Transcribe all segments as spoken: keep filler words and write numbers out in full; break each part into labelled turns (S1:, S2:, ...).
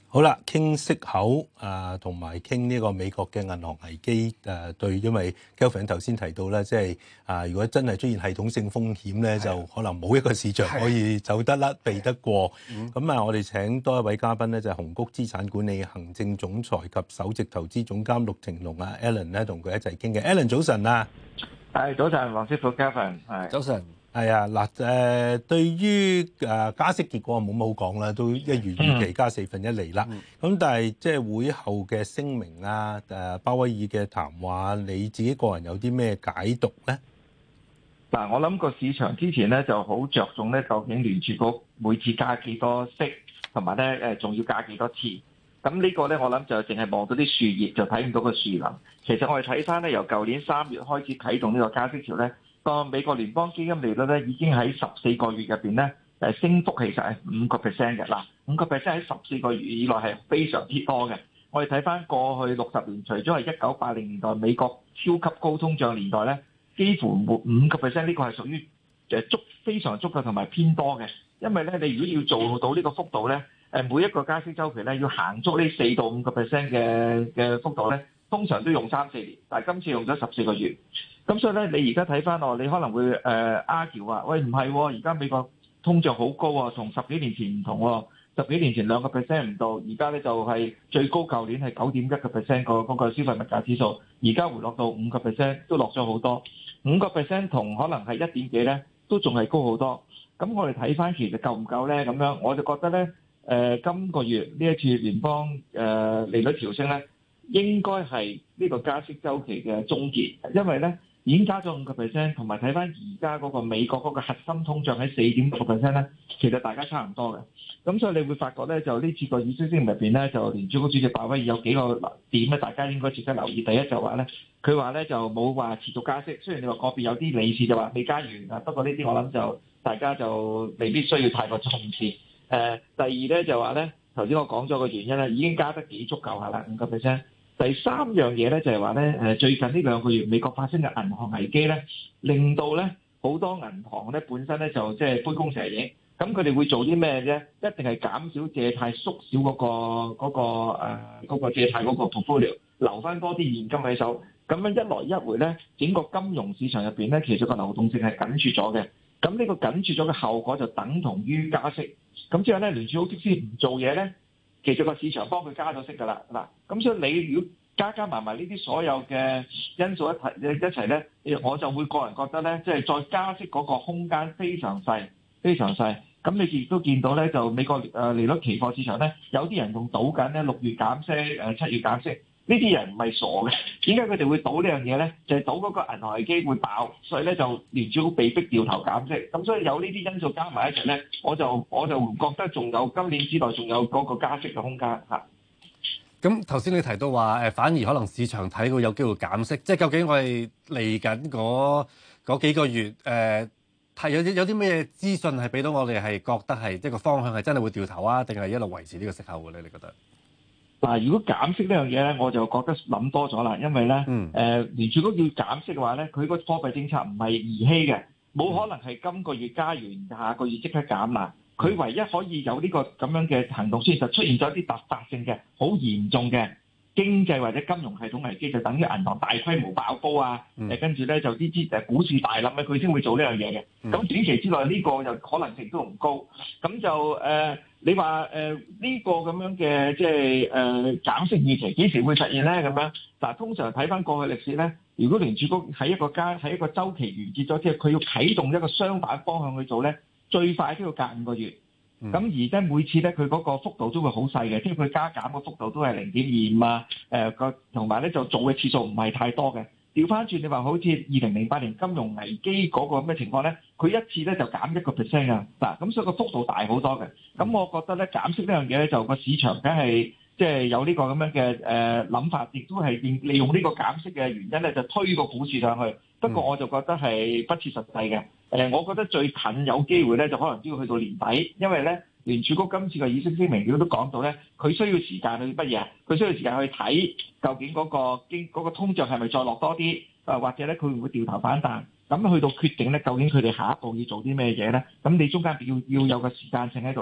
S1: 好啦，傾息口啊，同埋傾呢個美國嘅銀行危機誒對，因為 Kelvin 頭先提到咧，即係啊，如果真係出現系統性風險咧，就可能冇一個市場可以走得甩、避得過。咁啊，我哋請多一位嘉賓咧，就係紅谷資產管理行政總裁及首席投資總監陸庭龍啊 Alan 咧，同佢一齊傾嘅。Alan 早晨啊，
S2: 係早晨，黃師傅 Kevin 係
S3: 早晨。
S1: 係啊，嗱誒，對於誒加息結果冇乜好講啦，都一如預期加四分一厘啦。咁、嗯、但係即係會後嘅聲明啊，誒鮑威爾嘅談話，你自己個人有啲咩解讀咧？
S2: 嗱，我諗個市場之前咧就好着重咧，究竟聯儲局每次加幾多息，同埋咧誒仲要加幾多次？咁呢個咧我諗就淨係望到啲樹葉，就睇唔到個樹林。其實我哋睇翻咧，由舊年三月開始啟動呢個加息潮咧。個美國聯邦基金利率咧已經喺十四個月入邊咧，誒升幅其實係五個 percent 嘅。嗱，五個 percent 喺十四個月以內係非常之多嘅。我哋睇翻過去六十年，除咗係一九八零年代美國超級高通脹年代咧，幾乎冇五個 percent 呢個係屬於誒足非常足夠同埋偏多嘅。因為咧，你如果要做到呢個幅度咧，誒每一個加息週期咧要行足呢四到五個 percent 嘅嘅幅度咧，通常都用三四年，但係今次用咗十四個月。咁所以咧，你而家睇翻我，你可能會誒 argue 話，喂唔係，而家美國通脹好高啊，同十幾年前唔同喎。十幾年前兩個 percent 唔到，而家咧就係最高，舊年係九點一個 percent 個嗰個消費物價指數，而家回落到五個 percent，都落咗好多。五個 percent 同可能係一點幾咧，都仲係高好多。咁我哋睇翻其實夠唔夠咧？咁樣我就覺得咧，誒、呃、今個月呢一次聯邦誒、呃、利率調升咧，應該係呢個加息週期嘅終結，因為咧。已經加咗五個 percent，同埋睇翻而家嗰個美國嗰個核心通脹喺四點六個 percent 咧，其實大家差唔多嘅。咁所以你會發覺咧，就呢次個議息聲明入邊咧，就聯儲局主席鮑威爾有幾個點咧，大家應該值得留意。第一就話咧，佢話咧就冇話持續加息，雖然你話個別有啲理事就話未加完啊，不過呢啲我諗就大家就未必需要太過重視。誒、呃，第二咧就話咧，頭先我講咗個原因咧，已經加得幾足夠下啦，五個 percent。第三樣嘢咧就係話咧，誒最近呢兩個月美國發生嘅銀行危機咧，令到咧好多銀行咧本身咧就即係杯弓蛇影，咁佢哋會做啲咩啫？一定係減少借貸，縮小嗰個嗰個誒嗰個借貸嗰個 portfolio，留翻多啲現金喺手。咁樣一來一回咧，整個金融市場入邊咧，其實個流動性係緊絀咗嘅。咁呢個緊絀咗嘅後果就等同於加息。咁之後咧，聯儲局即使唔做嘢咧，其實個市場幫佢加咗息㗎啦，嗱，咁所以你如果加加埋埋呢啲所有嘅因素一齊一齊咧，我就會個人覺得咧，即係再加息嗰個空間非常細，非常細。咁你亦都見到咧，就美國誒利率期貨市場咧，有啲人仲賭緊咧六月減息，誒七月減息。呢啲人唔係傻嘅，點解佢哋會賭呢樣嘢咧？就係、是、賭嗰個銀行危機會爆，所以咧就聯儲局被逼掉頭減息。咁所以有呢啲因素加埋一齊咧，我就我就唔覺得仲有今年之內仲有嗰個加息嘅空間嚇。
S3: 咁頭先你提到話誒，反而可能市場睇到有機會減息，即係究竟我哋嚟緊嗰嗰幾個月誒，係、呃、有啲有啲咩資訊係俾到我哋係覺得係即係個方向係真係會掉頭啊，定係一路維持呢個息口嘅咧？你覺得？嗱，
S2: 如果減息呢樣嘢咧，我就覺得諗多咗啦，因為咧，誒、嗯呃、聯儲局要減息嘅話咧，佢個貨幣政策唔係兒戲嘅，冇可能係今個月加完，下個月即刻減啦。佢唯一可以有呢個咁樣嘅行動，先就出現咗一啲突發性嘅、好嚴重嘅經濟或者金融系統危機，就等於銀行大規模爆煲啊，誒、嗯、跟住咧就啲啲誒股市大冧咧，佢先會做呢樣嘢嘅。咁、嗯、短期之內呢個就可能性都唔高，咁就誒。呃你話誒呢個咁樣嘅即係誒減息預期幾時會實現咧？咁樣嗱，通常睇翻過去歷史咧，如果聯儲局喺一個加喺一個週期完結咗之後，佢要啟動一個相反方向去做咧，最快都要隔五個月。咁、嗯、而咧每次咧佢嗰個幅度都會好細嘅，即係佢加減嘅幅度都係零點二五啊，誒個同埋咧就做嘅次數唔係太多嘅。調翻轉，你話好似二零零八年金融危機嗰個咩情況咧？佢一次咧就減一個 percent 啊，嗱，咁所以個幅度大好多嘅。咁我覺得咧減息呢樣嘢咧，就個市場梗係即係有呢個咁樣嘅誒諗法，亦都係利利用呢個減息嘅原因咧，就推個股市上去。不過我就覺得係不切實際嘅。誒，我覺得最近有機會咧，就可能都要去到年底，因為咧聯儲局今次嘅議息聲明，佢都講到咧，佢需要時間去乜嘢啊？佢需要時間去睇究竟嗰個經嗰個通脹係咪再落多啲，啊或者咧佢會唔會掉頭反彈？咁去到決定咧，究竟佢哋下一步要做啲咩嘢咧？咁你中間要要有個時間性喺度咧，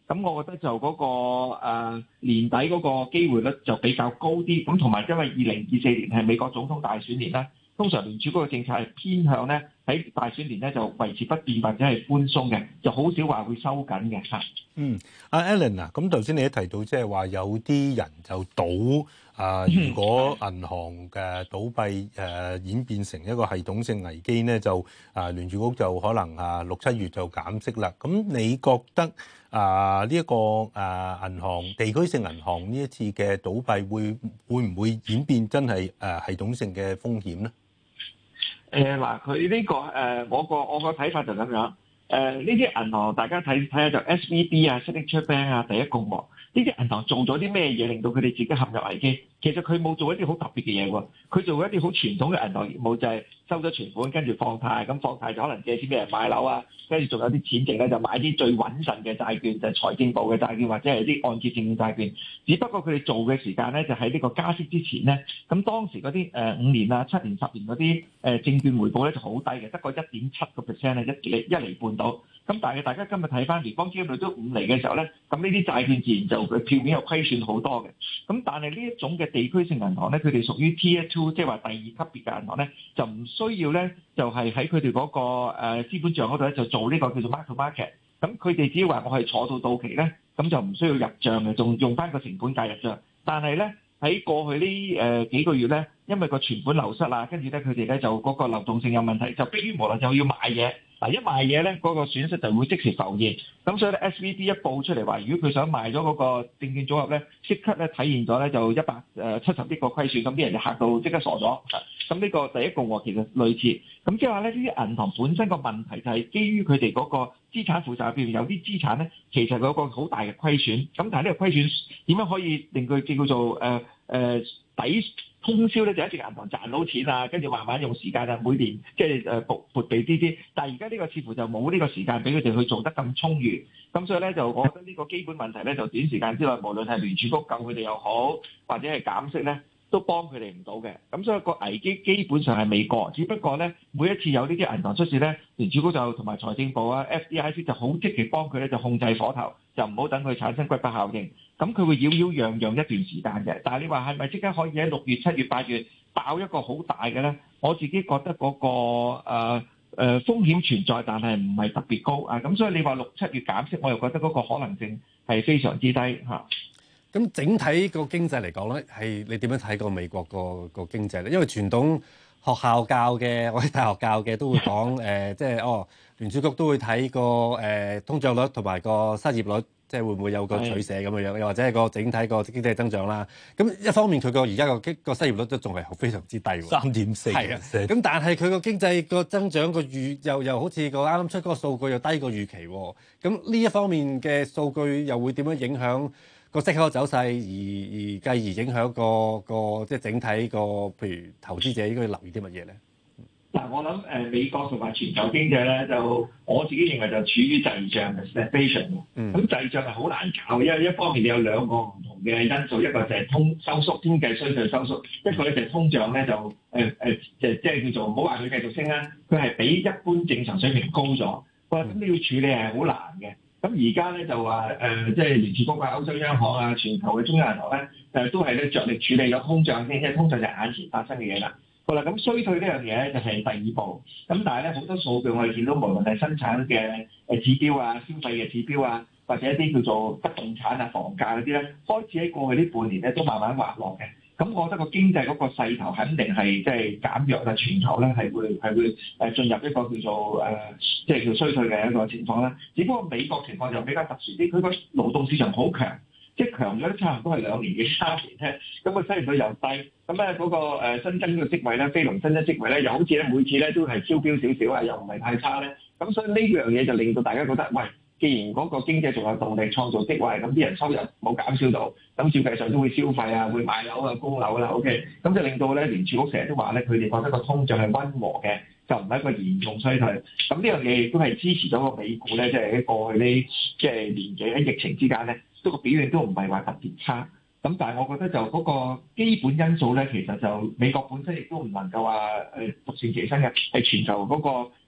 S2: 咁我覺得就嗰、個、呃、年底嗰個機會率就比較高啲。咁同埋因為二零二四年係美國總統大選年啦，通常聯儲局嘅政策係偏向咧喺大選年咧就維持不變或者係寬鬆嘅，就好少話會收緊嘅嚇。
S1: 嗯，阿 Alan 啊，咁頭先你都提到即係話有啲人就賭啊、呃，如果銀行嘅倒閉誒、呃、演變成一個系統性危機咧，就啊、呃、聯儲局就可能啊六七月就減息啦。咁你覺得啊呢一個啊銀行地區性銀行呢一次嘅倒閉會會唔會演變真係誒、呃、系統性嘅風險咧？
S2: 誒嗱，佢呢個誒，我個我個睇法就咁樣。誒呢啲銀行，大家睇睇下就 S V B 啊、Signature Bank 啊、第一共和呢啲銀行做咗啲咩嘢，令到佢哋自己陷入危機？其實佢冇做一啲好特別嘅嘢喎，佢做一啲好傳統嘅銀行業務，就係收咗存款跟住放貸，咁放貸就可能借錢俾人買樓啊，跟住仲有啲錢剩咧就買啲最穩陣嘅債券，就係財政部嘅債券或者係啲按揭證券債券。只不過佢哋做嘅時間咧，就喺呢個加息之前咧，咁當時嗰啲誒五年啊、七年、十年嗰啲誒證券回報咧就好低嘅，得個一點七個 percent 咧，一厘一厘半到。咁但係大家今日睇翻聯邦基金率都五厘嘅時候咧，咁呢啲債券自然就佢票面有虧損好多嘅。咁但係呢一種嘅地區性銀行咧，佢哋屬於 Tier Two，即係話第二級別嘅銀行咧，就唔需要咧，就係喺佢哋嗰個誒資本帳嗰度咧，就做呢個叫做 mark to market。咁佢哋只要話我係坐到到期咧，咁就唔需要入帳嘅，仲用翻個成本價入帳。但係咧喺過去呢誒幾個月咧，因為個存款流失啦，跟住咧佢哋咧就嗰個流動性有問題，就迫於無奈就要買嘢。嗱，一賣嘢咧，嗰個損失就會即時浮現。咁所以咧 ，S V B 一報出嚟話，如果佢想賣咗嗰個證券組合咧，即刻咧體現咗咧就一百誒七十億個虧損，咁啲人就嚇到即刻傻咗。咁呢個第一共和其實類似。咁即係話咧，呢啲銀行本身個問題就係基於佢哋嗰個資產負債表現有啲資產咧，其實有個好大嘅虧損。咁但係呢個虧損點樣可以令佢叫做誒誒、呃、抵通宵咧？就一直銀行賺到錢啊，跟住慢慢用時間啊，每年即係誒撥撥備啲啲。但係而家呢個似乎就冇呢個時間俾佢哋去做得咁充裕。咁所以咧，就我覺得呢個基本問題咧，就短時間之內，無論係聯儲局救佢哋又好，或者係減息咧，都幫佢哋唔到嘅。咁所以個危機基本上係未過，只不過咧，每一次有呢啲銀行出事咧，聯儲局就同埋財政部啊、F D I C 就好積極幫佢咧，就控制火頭，就唔好等佢產生骨牌效應。咁佢會擾擾攘攘一段時間嘅。但係你話係咪即刻可以喺六月、七月、八月爆一個好大嘅咧？我自己覺得嗰、那個誒誒、呃呃、風險存在，但係唔係特別高啊。咁所以你話六七月減息，我又覺得嗰個可能性係非常之低嚇。
S3: 咁、啊、整體個經濟嚟講咧，係你點樣睇個美國個個經濟咧？因為傳統學校教嘅，或者大學教嘅都會講誒、呃，即係哦聯儲局都會睇個誒通脹率同埋個失業率。即係會唔會有個取捨咁樣樣，又或者係個整體個經濟增長啦？咁一方面佢個而家個經個失業率都仲係非常之低喎，
S1: 三點四。
S3: 係啊，咁但係佢個經濟個增長個預又又好似個啱啱出嗰個數據又低過預期喎。咁呢一方面嘅數據又會點樣影響個息口嘅走勢，而而繼而影響個個即係整體個譬如投資者應該留意啲乜嘢咧？
S2: 嗱，我諗誒美國同埋全球經濟咧，就我自己認為就處於滯脹嘅 stagflation。咁滯脹係好難搞，因為一方面你有兩個唔同嘅因素，一個就係通收縮經濟衰退收縮，一個咧就係通脹咧就誒誒即係即係叫做唔好話佢繼續升啦，佢係比一般正常水平高咗。哇！咁你要處理係好難嘅。咁而家咧就話誒，即係聯儲局啊、歐洲央行啊、全球嘅中央銀行咧，誒都係咧着力處理咗通脹先，即係通脹就係眼前發生嘅嘢啦。好啦，咁衰退呢樣嘢咧就係第二步，咁但係咧好多數據我哋見到，無論係生產嘅誒指標啊、消費嘅指標啊，或者一啲叫做不動產啊、房價嗰啲咧，開始喺過去呢半年咧都慢慢滑落嘅。咁我覺得個經濟嗰個勢頭肯定係即係減弱啦，全球咧係會係會誒進入一個叫做誒即係叫衰退嘅一個情況啦。只不過美國情況就比較特殊啲，佢個勞動市場好強。即係強咗都差唔多係兩年幾三年咧，咁個失業率又低，咁咧嗰個誒新增嘅職位咧，非農新增職位咧，又好似咧每次咧都係超標少少啊，又唔係太差咧，咁所以呢樣嘢就令到大家覺得，喂，既然嗰個經濟仲有動力創造職位，咁啲人收入冇減少到，咁照計上都會消費啊，會買樓啊、供樓啦 ，OK，咁就令到咧聯儲局成日都話咧，佢哋覺得個通脹係溫和嘅，就唔係一個嚴重衰退。咁呢樣嘢亦都係支持咗個美股咧，即係喺過去呢即係年幾喺疫情之間咧。都個表現都唔係話特別差，咁但係我覺得就嗰個基本因素咧，其實就美國本身亦都唔能夠話誒獨善其身嘅，係全球嗰個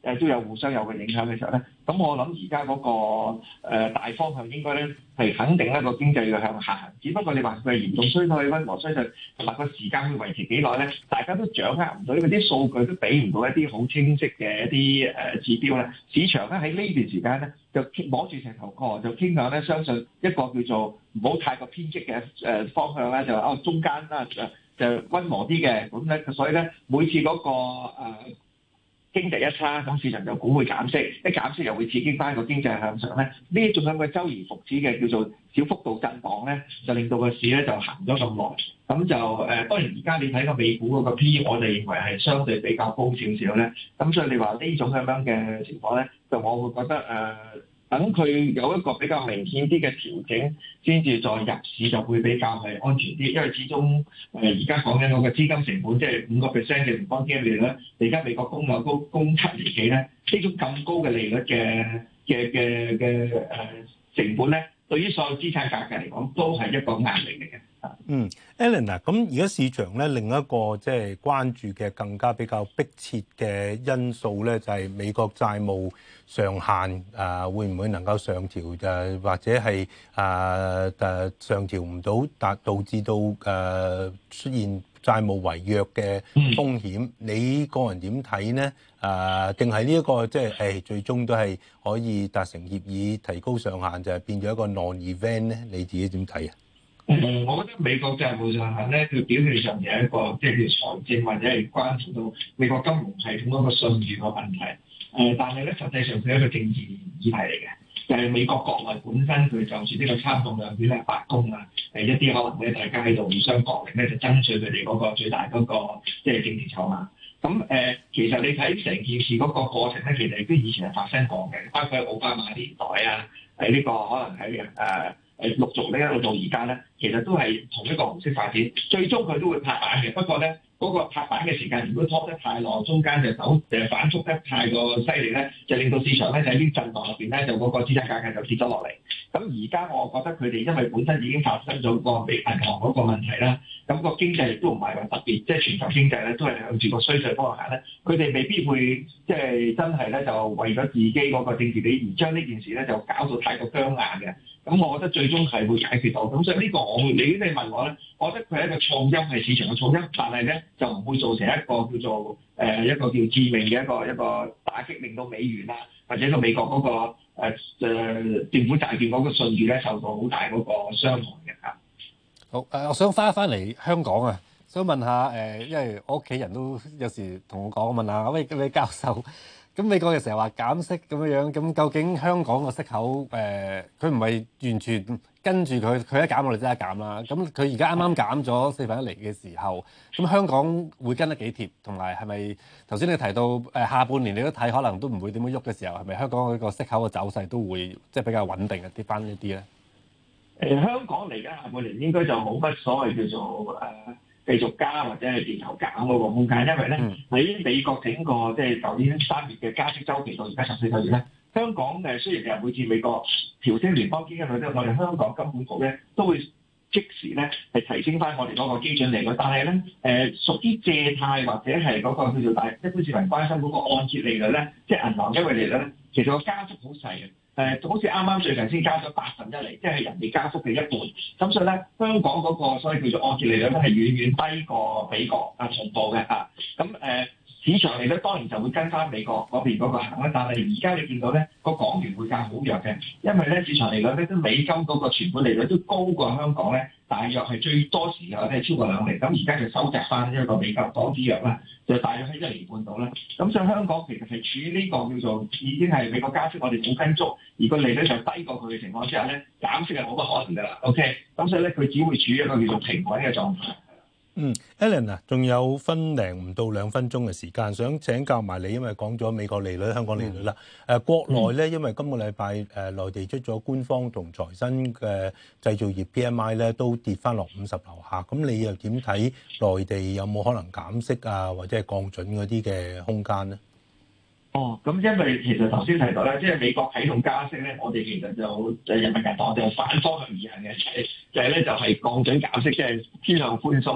S2: 誒都有互相有個影響嘅時候咧，咁我諗而家嗰個、呃、大方向應該咧係肯定一個經濟要向下行，只不過你話佢係嚴重衰退、溫和衰退同埋個時間會維持幾耐咧，大家都掌握唔到，因為啲數據都俾唔到一啲好清晰嘅一啲誒指標咧。市場咧喺呢段時間咧就摸住石頭過，就傾向咧相信一個叫做唔好太過偏激嘅誒方向咧，就話哦中間啦就就溫和啲嘅，咁咧所以咧每次嗰、那個誒。呃經濟一差，咁市場就估會減息，一減息又會刺激翻個經濟向上咧。呢一種咁嘅周而復始嘅叫做小幅度震盪咧，就令到個市咧就行咗咁耐。咁就誒、呃，當然而家你睇個美股嗰個 P， 我哋認為係相對比較高少少咧。咁所以你話呢種咁樣嘅情況咧，就我會覺得誒。呃等佢有一個比較明顯啲嘅調整，先至再入市就會比較係安全啲，因為始終誒而家講緊嗰個資金成本，即係五個 percent 嘅聯邦基金利率，而家美國公有高供七年期咧，呢種咁高嘅利率嘅嘅嘅嘅誒成本咧，對於所有資產價格嚟講都係一個壓力嚟嘅。
S1: 嗯 Alan 啊，咁而家市場咧另一個即係關注嘅更加比較迫切嘅因素咧，就係美國債務上限啊，會唔會能夠上調？誒或者係啊誒上調唔到，達導致到誒出現債務違約嘅風險？你個人點睇呢？啊，定係呢一個即係誒最終都係可以達成協議，提高上限就係變咗一個 non-event 咧？你自己點睇啊？
S2: 嗯，我覺得美國債務上限咧，佢表面上有一個即係叫財政或者係關乎到美國金融系統嗰個信譽個問題。誒、呃，但係咧實際上佢係一個政治議題嚟嘅，就係、是、美國國內本身佢就住呢個參眾兩院咧白宮啊，誒一啲可能咧大家喺度互相角力咧，就爭取佢哋嗰個最大嗰、那個即係、就是、政治籌碼。咁誒、呃，其實你睇成件事嗰個過程咧，其實亦都以前係發生過嘅，包括喺奧巴馬年代啊，喺呢、這個可能喺誒。呃誒陸續咧一路到而家咧，其實都係同一個模式發展，最終佢都會拍板嘅。不過咧，嗰、那個拍板嘅時間如果拖得太耐，中間就走誒反覆得太過犀利咧，就令到市場咧就喺呢啲震盪入邊咧，就嗰個資產價格就跌咗落嚟。咁而家我覺得佢哋因為本身已經發生咗個俾銀行嗰個問題啦，咁、那個經濟亦都唔係話特別，即係全球經濟咧都係向住個衰退方向行咧，佢哋未必會即係真係咧就為咗自己嗰個政治理而將呢件事咧就搞到太過僵硬嘅。咁我覺得最終係會解決到，咁所以呢個我會，你你問我咧，我覺得佢係一個噪音，係市場嘅噪音，但係咧就唔會造成一個叫做誒、呃、一個叫致命嘅一個一個打擊，令到美元啊或者個美國嗰、那個誒、呃、政府債券嗰個信譽咧受到好大嗰個傷害嘅嚇。
S3: 好誒、呃，我想翻一翻嚟香港啊，想問下誒、呃，因為我屋企人都有時同我講，問下喂，你教授。咁美國嘅成日話減息咁樣樣，咁究竟香港個息口誒，佢唔係完全跟住佢，佢一減我哋即刻減啦。咁佢而家啱啱減咗四分一厘嘅時候，咁香港會跟得幾貼？同埋係咪頭先你提到誒、呃、下半年你都睇可能都唔會點樣喐嘅時候，係咪香港嗰個息口嘅走勢都會即係比較穩定一啲翻一啲咧？
S2: 誒、呃，香港嚟緊下半年應該就冇乜所謂叫做誒。呃繼續加或者係跌頭減嗰個空間，因為咧喺、嗯、美國整個即係舊年三月嘅加息週期到而家十四個月咧，香港誒雖然係每次美國調升聯邦基金利率，我哋香港金管局咧都會即時咧係提升翻我哋嗰個基準利率，但係咧誒屬於借貸或者係嗰個叫做大一般市民關心嗰個按揭利率咧，即係銀行優惠利率咧，其實個加幅好細嘅。誒、呃，好似啱啱最近先加咗八分一厘，即係人哋加幅嘅一半。咁所以咧，香港嗰個所謂叫做按揭利率咧，係遠遠低過美國啊同步嘅嚇。咁、啊、誒、呃、市場利率當然就會跟翻美國嗰邊嗰個行啦。但係而家你見到咧個港元匯價好弱嘅，因為咧市場利率咧都美金嗰個存款利率都高過香港咧，大約係最多時候咧超過兩厘。咁而家就收窄翻一個美金港紙弱啦，就大約喺一厘半度啦。咁所以香港其實係處於呢個叫做已經係美國加息，我哋冇跟足，而個利率就低過佢嘅情況之下咧，減息係冇乜可能㗎啦。OK，咁所以咧佢只會處於一個叫做平穩嘅狀態。
S1: 嗯 Alan 啊，仲有分零唔到兩分鐘嘅時間，想請教埋你，因為講咗美國利率、香港利率啦。誒、嗯呃、國內咧，因為今個禮拜誒內地出咗官方同財新嘅製造業 P M I 咧，都跌翻落五十樓下。咁你又點睇內地有冇可能減息啊，或者係降準嗰啲嘅空間咧？
S2: 哦，咁因為其實頭先提到咧，即係美國啟動加息咧，我哋其實就就人民銀行就反方向而行嘅，就係就係咧就係降準減息，即係偏向寬鬆嘅。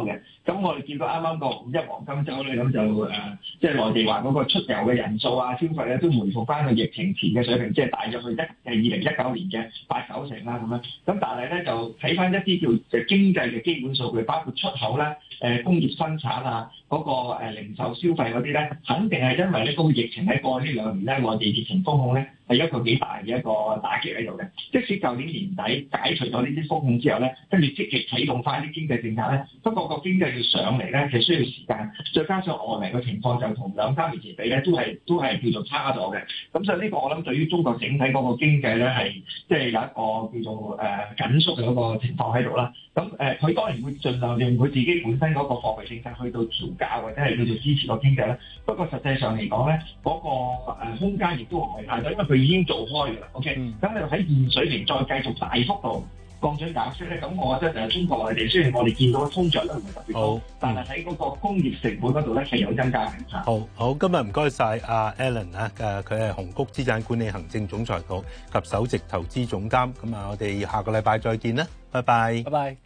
S2: 咁我哋見到啱啱個五一黃金週咧，咁就誒，即係內地話嗰個出遊嘅人數啊、消費咧，都回復翻個疫情前嘅水平，即係大約去一誒二零一九年嘅八九成啦咁樣。咁但係咧就睇翻一啲叫誒經濟嘅基本數據，包括出口啦、誒工業生產啊、嗰個誒零售消費嗰啲咧，肯定係因為咧嗰個疫情喺過去呢兩年咧，內地疫情封控咧係一個幾大嘅一個打擊喺度嘅。即使舊年年底解除咗呢啲封控之後咧，跟住積極啟動翻啲經濟政策咧，不過個經濟要上嚟咧，其實需要時間，再加上外圍嘅情況就同兩三年前比咧，都係都係叫做差咗嘅。咁所以呢個我諗對於中國整體嗰個經濟咧係即係有一個叫做誒、呃、緊縮嘅嗰個情況喺度啦。咁誒佢當然會盡量用佢自己本身嗰個貨幣政策去到調價或者係叫做支持個經濟啦。不過實際上嚟講咧，嗰、那個誒空間亦都唔係太多，因為佢已經做開㗎啦。OK，咁、嗯、你喺現水平再繼續大幅度降準減息咧，咁我覺得誒中國內地雖然我哋見到通脹都唔係特別高，但係喺嗰個工業成本嗰度咧係有增加嘅。
S1: 好好，今日唔該晒阿 Alan 啊，誒佢係紅谷資產管理行政總裁局及首席投資總監。咁啊，我哋下個禮拜再見啦，拜拜。
S3: 拜拜。